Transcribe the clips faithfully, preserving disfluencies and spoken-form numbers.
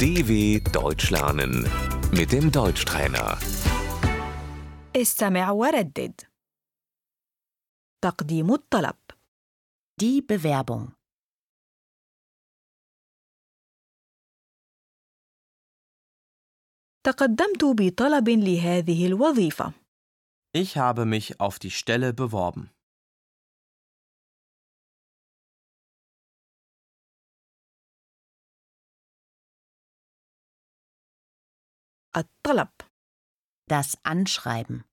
D W Deutsch lernen mit dem Deutschtrainer. استمع وردد. تقديم الطلب. Die Bewerbung. تقدمت بطلب لهذه الوظيفة. Ich habe mich auf die Stelle beworben. الطلب. Das Anschreiben.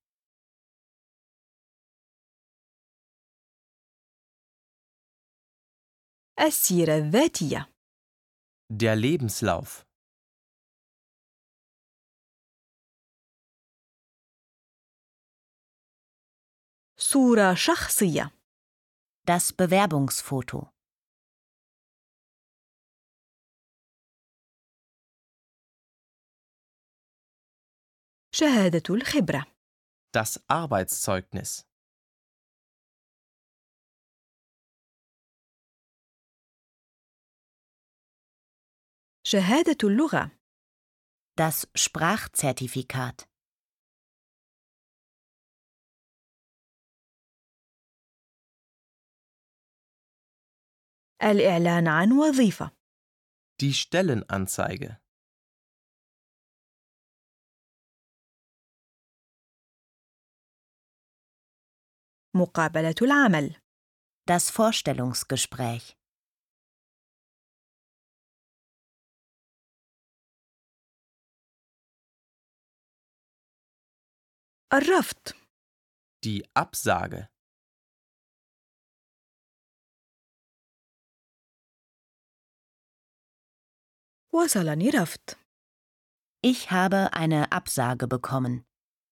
السيرة الذاتية. Der Lebenslauf. صورة شخصية. Das Bewerbungsfoto. شهادة الخبرة. Das Arbeitszeugnis. شهادة اللغة. Das Sprachzertifikat. الإعلان عن وظيفة. Die Stellenanzeige. مقابلة العمل. Das Vorstellungsgespräch. الرفض. Die Absage. وصلني رفض. Ich habe eine Absage bekommen.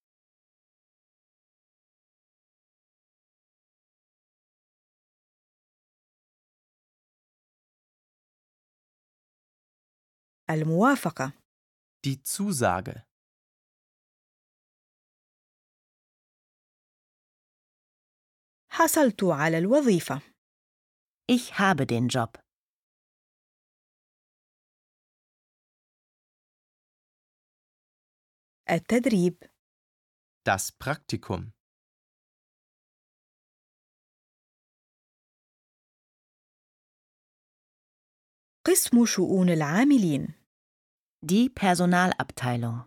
الموافقة. Die Zusage. حصلت على الوظيفة. Ich habe den Job. التدريب. Das Praktikum. قسم شؤون العاملين. Die Personalabteilung.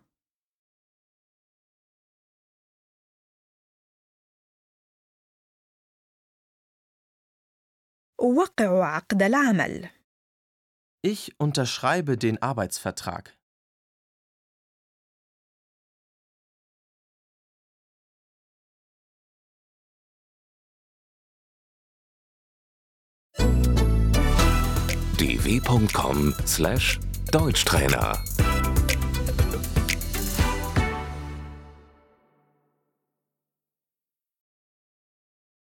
أوقع عقد العمل. Ich unterschreibe den Arbeitsvertrag. d w punkt com slash Deutschtrainer